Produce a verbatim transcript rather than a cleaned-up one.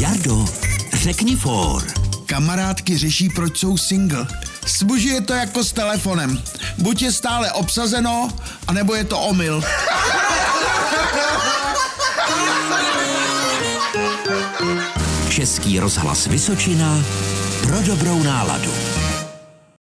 Jardo, řekni for. Kamarádky řeší, proč jsou single. S muži je to jako s telefonem. Buď je stále obsazeno, anebo je to omyl. Český rozhlas Vysočina pro dobrou náladu.